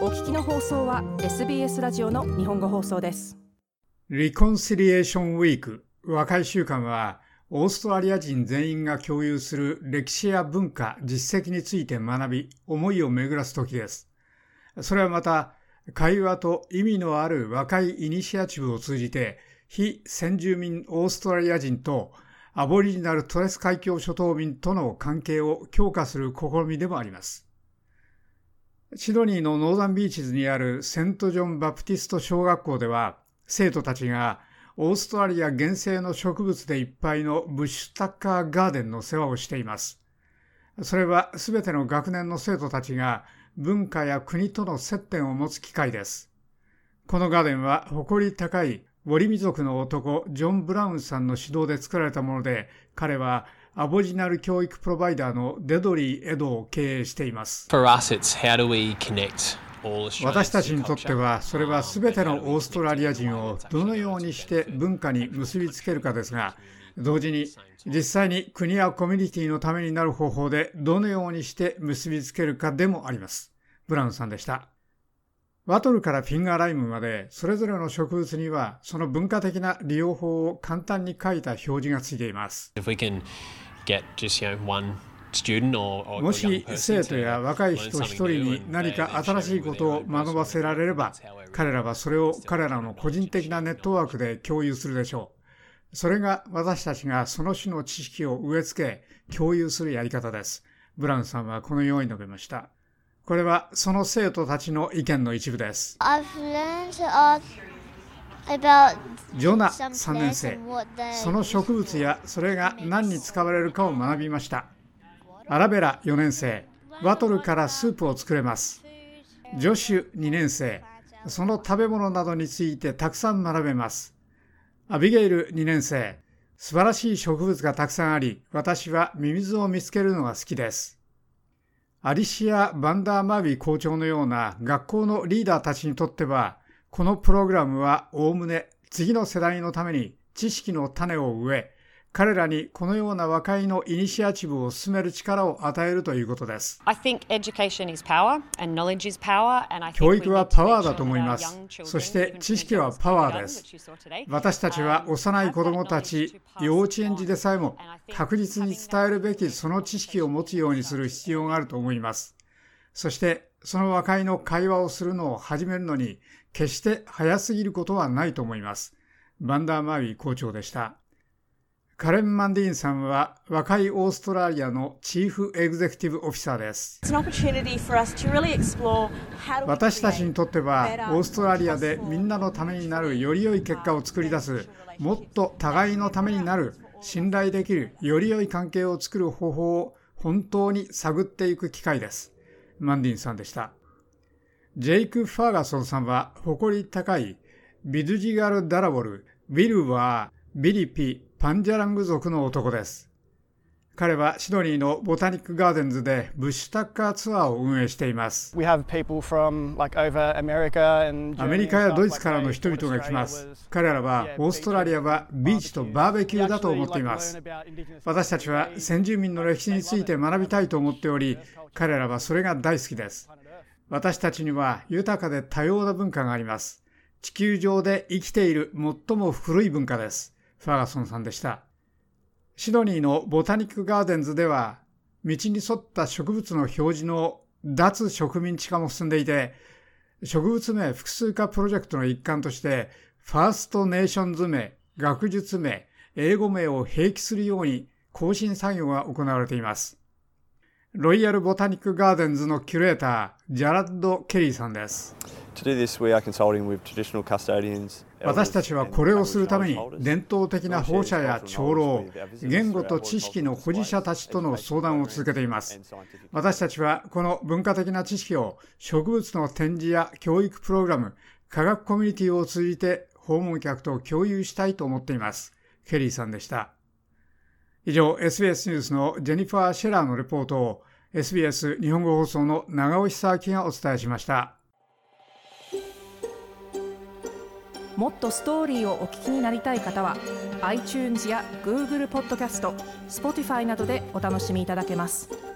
お聞きの放送は SBS ラジオの日本語放送です。 リコンシリエーションウィーク和解週間は、オーストラリア人全員が共有する歴史や文化、実績について学び、思いを巡らす時です。それはまた、会話と意味のある和解イニシアチブを通じて、非先住民オーストラリア人とアボリジナルトレス海峡諸島民との関係を強化する試みでもあります。シドニーのノーザンビーチズにあるセントジョン・バプティスト小学校では、生徒たちがオーストラリア原生の植物でいっぱいのブッシュタッカーガーデンの世話をしています。それはすべての学年の生徒たちが文化や国との接点を持つ機会です。このガーデンは誇り高いウォリ民族の男ジョン・ブラウンさんの指導で作られたもので、彼はアボリジナル教育プロバイダーのデドリー・エドを経営しています。私たちにとっては、それはすべてのオーストラリア人をどのようにして文化に結びつけるかですが、同時に実際に国やコミュニティのためになる方法でどのようにして結びつけるかでもあります。ブラウンさんでした。ワトルからフィンガーライムまで、それぞれの植物にはその文化的な利用法を簡単に書いた表示がついています。もし生徒や若い人一人に何か新しいことを学ばせられれば、彼らはそれを彼らの個人的なネットワークで共有するでしょう。それが私たちがその種の知識を植え付け共有するやり方です。ブラウンさんはこのように述べました。これはその生徒たちの意見の一部です。ジョナ3年生、その植物やそれが何に使われるかを学びました。アラベラ4年生、ワトルからスープを作れます。ジョシュ2年生、その食べ物などについてたくさん学べます。アビゲイル2年生、素晴らしい植物がたくさんあり、私はミミズを見つけるのが好きです。アリシア・バンダーマービー校長のような学校のリーダーたちにとっては、このプログラムはおおむね次の世代のために知識の種を植え、彼らにこのような和解のイニシアチブを進める力を与えるということです。教育はパワーだと思います。そして知識はパワーです。私たちは幼い子どもたち、幼稚園児でさえも確実に伝えるべきその知識を持つようにする必要があると思います。そしてその和解の会話をするのを始めるのに決して早すぎることはないと思います。バンダーマービー校長でした。カレン・マンディーンさんは和解オーストラリアのチーフエグゼクティブオフィサーです。私たちにとってはオーストラリアでみんなのためになるより良い結果を作り出す、もっと互いのためになる、信頼できるより良い関係を作る方法を本当に探っていく機会です。マンディーンさんでした。ジェイク・ファーガソンさんは誇り高いビドゥジガル・ダラボル、ウィルはビリピ・パンジャラング族の男です。彼はシドニーのボタニックガーデンズでブッシュタッカーツアーを運営しています。アメリカやドイツからの人々が来ます。彼らはオーストラリアはビーチとバーベキューだと思っています。私たちは先住民の歴史について学びたいと思っており、彼らはそれが大好きです。私たちには豊かで多様な文化があります。地球上で生きている最も古い文化です。ファーガソンさんでした。シドニーのボタニックガーデンズでは、道に沿った植物の表示の脱植民地化も進んでいて、植物名複数化プロジェクトの一環として、ファーストネーションズ名、学術名、英語名を併記するように更新作業が行われています。ロイヤルボタニックガーデンズのキュレーター、ジャラッド・ケリーさんです。私たちはこれをするために伝統的な保護者や長老、言語と知識の保持者たちとの相談を続けています。私たちはこの文化的な知識を植物の展示や教育プログラム、科学コミュニティを通じて訪問客と共有したいと思っています。ケリーさんでした。以上、SBS ニュースのジェニファー・シェラーのレポートを SBS 日本語放送の長尾久明がお伝えしました。 もっとストーリーをお聞きになりたい方は iTunes や Google ポッドキャスト、Spotify などでお楽しみいただけます。